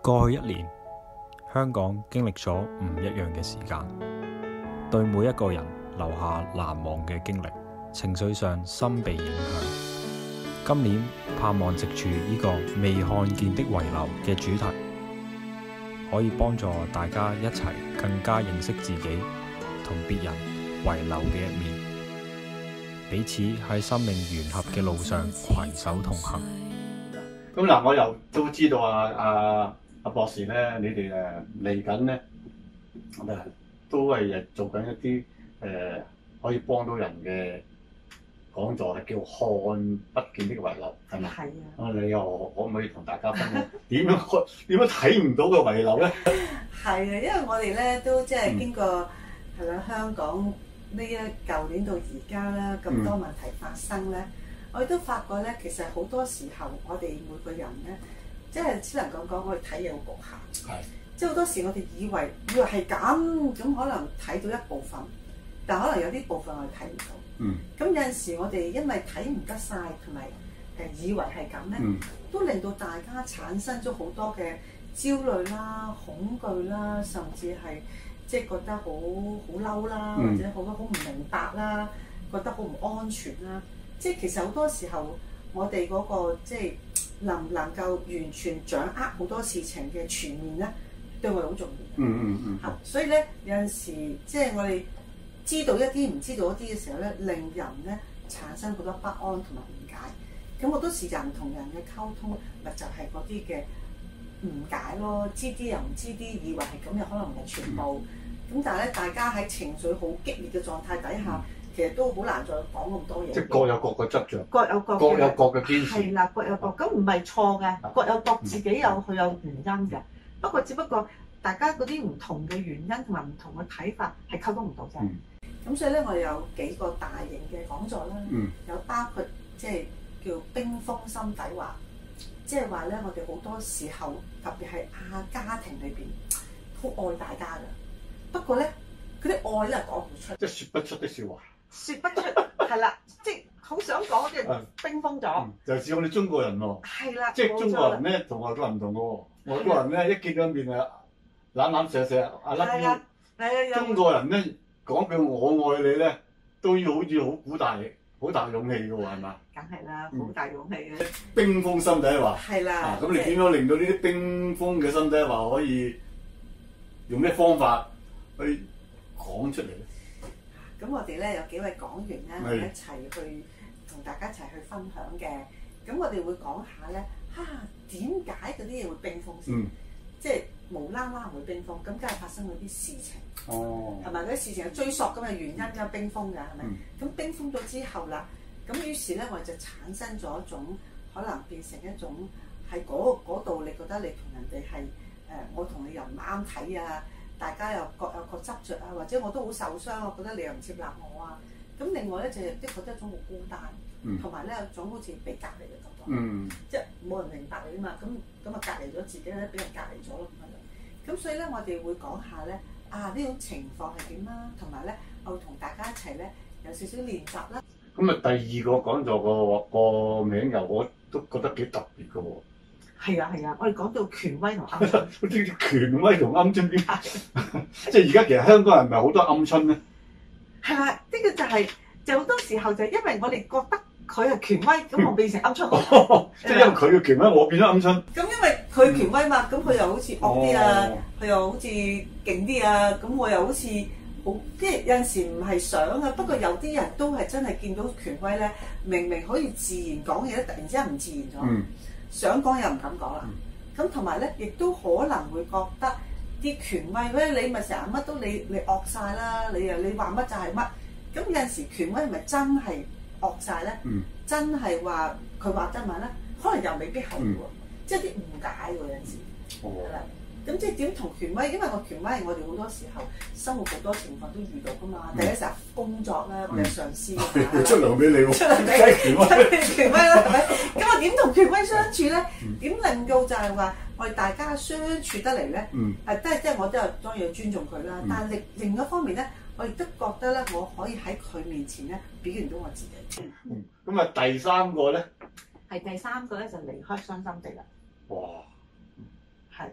過去1年，香港經歷咗唔一樣嘅時間，對每一個人留下難忘嘅經歷，情緒上深被影響。今年盼望藉住呢個未看見的遺留嘅主題，可以幫助大家一齊更加認識自己同別人遺留嘅一面，彼此喺生命圓合嘅路上攜手同行。 咁嗱，我又都知道阿博士咧，你哋嚟緊咧，都係做緊一啲可以幫到人嘅講座，係叫看不見的遺留，係咪？ 係啊。你又可唔可以同大家分享點樣睇唔到嘅遺留咧？ 係啊，因為我哋咧都即係經過係咪香港呢舊年到而家啦，咁多問題發生咧，我哋都發覺咧，其實好多時候我哋每個人咧，即係只能夠講我哋睇嘢好局限。 係。即係好多時我哋以為係咁可能睇到一部分，但可能有啲部分我哋睇唔到。咁有陣時我哋因為睇唔得晒，同埋以為係咁咧，都令到大家產生咗好多嘅焦慮啦、恐懼啦，甚至係即係覺得好嬲啦，或者好唔明白啦，覺得好唔安全啦。即係其實好多時候我哋嗰個即係能唔能夠完全掌握好多事情嘅全面咧，對我哋好重要。所以咧有陣時即係我哋知道一啲唔知道一啲嘅時候咧，令人咧產生好多不安同埋誤解。咁好多時人同人嘅溝通，咪就係嗰啲嘅誤解咯。知啲又唔知啲，以為係咁，又可能唔係全部。咁但係咧，大家喺情緒好激烈嘅狀態底下，其實都好難再講咁多嘢。 係各有各嘅執着， 各有各嘅堅持。 係啦，各有各，咁唔係錯嘅，各有各自己佢有原因嘅。不過只不過大家嗰啲唔同嘅原因同埋唔同嘅睇法係溝通唔到啫。咁所以咧，我哋有幾個大型嘅講座啦，有包括即係叫冰封心底話，即係話咧，我哋好多時候特別係家庭裏邊好愛大家㗎，不過咧嗰啲愛咧講唔出， 即係説不出的説話。説不出係啦，即係好想講嘅冰封咗。 就似我哋中國人喎。係啦， 即係中國人咧同外國人唔同嘅喎，外國人咧一見到面啊攬攬錫錫啊甩腰，中國人咧講句我愛你咧都要好似好大勇氣嘅喎，係嘛？ 梗係啦，好大勇氣嘅。 冰封心底話。係啦。 咁你點樣令到呢啲冰封嘅心底話可以用咩方法去講出嚟咧？ 咁我哋咧有幾位講員咧，我哋一齊去同大家一齊去分享嘅。咁我哋會講下咧，點解嗰啲嘢會冰封先？即係無啦啦會冰封，咁梗係發生咗啲事情。係咪嗰啲事情有追溯咁嘅原因㗎？冰封㗎係咪？咁冰封咗之後啦，咁於是咧我哋就產生咗一種可能變成一種喺嗰度，你覺得你同人哋係我同你又唔啱睇啊！大家又各有各執着啊，或者我都好受傷，我覺得你又唔接納我啊。咁另外咧就的確一種好孤單，同埋咧有種好似被隔離嘅感覺，即係冇人明白你啊嘛。咁啊隔離咗自己咧，俾人隔離咗咯咁樣。咁所以咧我哋會講下咧呢種情況係點啦，同埋咧我會同大家一齊咧有少少練習啦。咁啊第二個講座個名又我都覺得幾特別嘅喎。係啊，我哋講到權威同鵪鶉。 啲權威同鵪鶉邊？即係而家其實香港人唔係好多鵪鶉咧。 係啦，呢個就好多時候就係因為我哋覺得佢係權威，咁我變成鵪鶉。 即係因為佢嘅權威，我變咗鵪鶉。 咁因為佢權威嘛，咁佢又好似惡啲啊，佢又好似勁啲啊，咁我又好似好即係有陣時唔係想啊，不過有啲人都係真係見到權威咧，明明可以自然講嘢咧，突然之間唔自然咗。想講又唔敢講啦，咁同埋咧，亦都可能會覺得啲權威你咪成日乜都你惡晒啦，你話乜就係乜，咁有陣時權威係咪真係惡晒咧？真係話佢話真話咧，可能又未必係喎，即係啲誤解喎有陣時，係啦。咁即係點同權威？因為個權威係我哋好多時候生活好多情況都遇到噶嘛。第一時候工作咧，我哋上司出糧俾你喎， 出糧俾你，權威啦，係咪？咁我點同權威相處咧？點令到就係話我哋大家相處得嚟咧？即係我都有當然要尊重佢啦。但係另一方面咧，我亦都覺得咧，我可以喺佢面前咧表現到我自己。 咁啊，第三個咧？ 第三個咧就離開傷心地啦。 哇！ 係。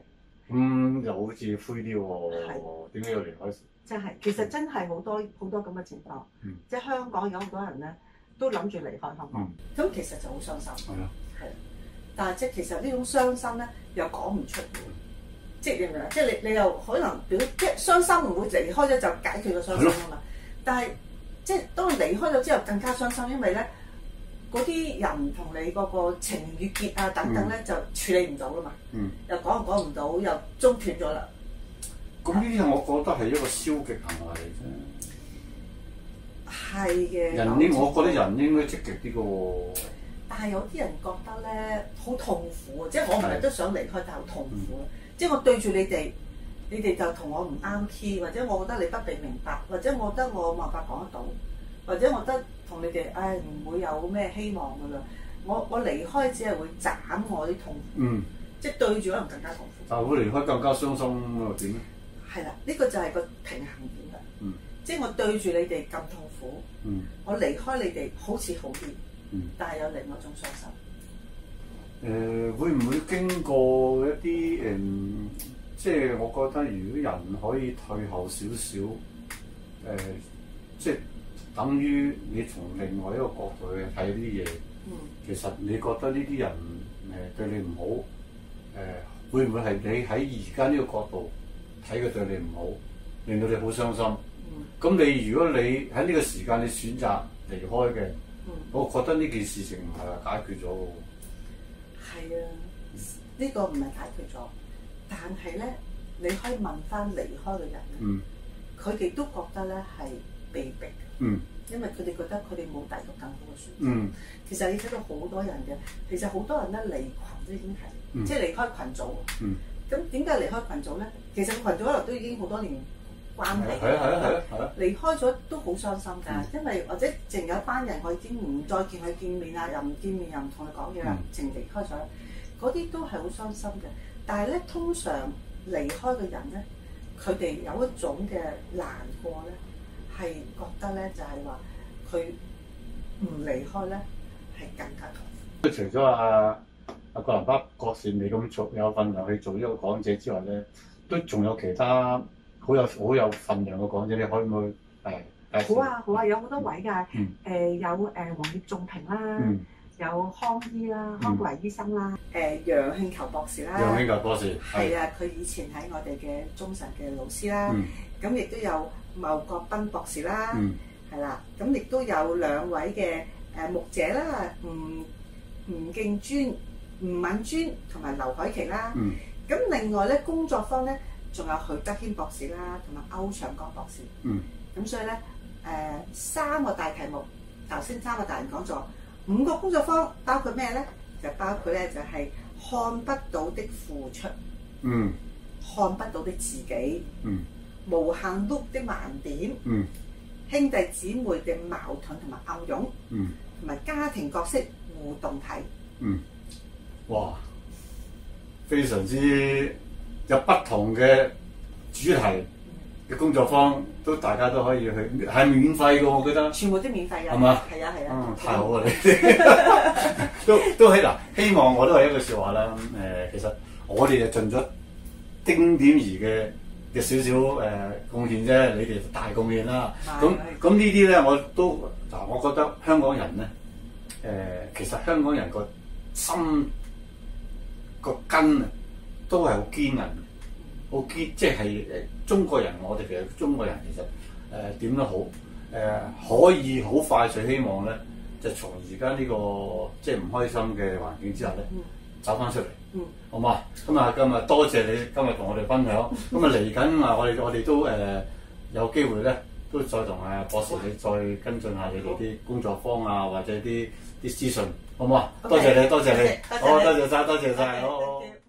又好似灰啲喎，點解要離開？ 真係，其實真係好多咁嘅情況，即係香港有好多人咧都諗住離開香港，咁其實就好傷心。 係啊， 係，但係即係其實呢種傷心咧又講唔出嘅，即係你明唔明啊？即係你又可能表即係傷心唔會離開咗就解決個傷心啊嘛，但係即係當你離開咗之後更加傷心，因為咧嗰啲人同你嗰個情與結啊等等咧就處理唔到啦嘛，又講唔到，又中斷咗啦。 咁呢啲我覺得係一個消極行為嚟啫。 係嘅。 我覺得人應該積極啲嘅喎。 但係有啲人覺得咧好痛苦啊，即係我唔係都想離開，但係好痛苦啊。即係我對住你哋就同我唔啱 key，或者我覺得你不被明白，或者我覺得我冇辦法講得到，或者我覺得同你哋唔會有咩希望㗎啦。我離開只係會斬我啲痛苦，即係對住可能更加痛苦。 但係會離開更加傷心喎，點咧？ 係啦，呢個就係個平衡點啦。即係我對住你哋咁痛苦，我離開你哋好似好啲，但係有另外一種傷心。 會唔會經過一啲即係我覺得如果人可以退後少少，即係等於你從另外一個角度去睇啲嘢，其實你覺得呢啲人對你唔好，會唔會係你喺而家呢個角度睇佢對你唔好，令到你好傷心？咁如果你喺呢個時間你選擇離開嘅，我覺得呢件事情唔係話解決咗喎。 係啊，呢個唔係解決咗，但係咧，你可以問翻離開嘅人咧，佢哋都覺得咧係被逼嘅，因為佢哋覺得佢哋冇第二個更好嘅選擇。其實你睇到好多人嘅，其實好多人咧離群都已經係，即係離開群組。咁點解離開群組咧？其實個群組可能都已經好多年關係，離開咗都好傷心㗎，因為或者淨有一班人我已經唔再見佢見面啊，又唔見面又唔同佢講嘢啦，淨離開咗，嗰啲都係好傷心嘅。但係咧，通常離開嘅人咧，佢哋有一種嘅難過咧，係覺得咧就係話佢唔離開咧係更加痛苦。 除咗阿葛蘭巴博士你咁做有份量去做呢個講者之外咧，都仲有其他好有份量嘅講者，你可唔可以好啊，有好多位㗎，有黃葉仲平啦，有康醫啦，康維醫生啦，楊慶球博士啦， 楊慶球博士係啊，佢以前喺我哋嘅中神嘅老師啦，咁亦都有牟國斌博士啦，係啦，咁亦都有兩位嘅牧者啦，吳敬尊、吳敏尊同埋劉海琪啦，咁另外咧工作坊咧仲有許德軒博士啦，同埋歐長江博士，咁所以咧三個大題目，頭先三個大人講座，5個工作坊包括咩咧？就包括咧就係看不到的付出，看不到的自己，無限碌的盲點，兄弟姊妹嘅矛盾同埋暗湧，同埋家庭角色互動體。 哇！非常之有不同嘅主題嘅工作坊，大家都可以去，係免費嘅，我覺得。全部都免費嘅。係嘛？係啊。太好啊！你哋都係嗱，希望我都係一句説話啦。其實我哋就盡咗丁點兒嘅少少貢獻啫，你哋大貢獻啦。咁呢啲咧，我覺得香港人咧，其實香港人個心個根啊，都係好堅韌，好堅，即係中國人，我哋其實中國人其實點都好，可以好快脆希望咧，就從而家呢個即係唔開心嘅環境之下咧，走翻出嚟，好嘛？咁啊，今日多謝你今日同我哋分享，咁啊嚟緊啊，我哋都有機會咧，都再同博士你再跟進下你哋啲工作坊啊，或者啲資訊，好唔好啊？多謝你，多謝你，好，多謝晒，好。